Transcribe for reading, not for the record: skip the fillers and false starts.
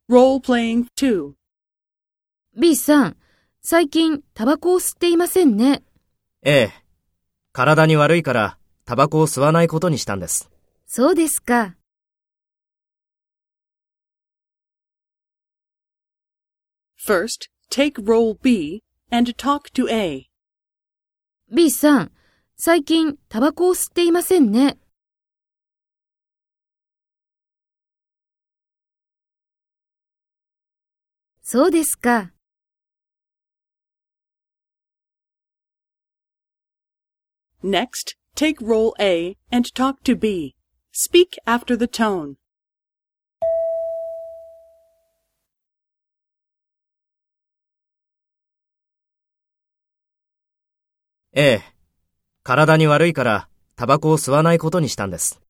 Role-playing 2. B さん、最近タバコを吸っていませんね。 ええ。体に悪いからタバコを吸わないことにしたんです。 そうですか。 First, take role B and talk to A. B さん、最近タバコを吸っていませんね。そうですか。 Next, take role A and talk to B. Speak after the tone. ええ。体に悪いからタバコを吸わないことにしたんです。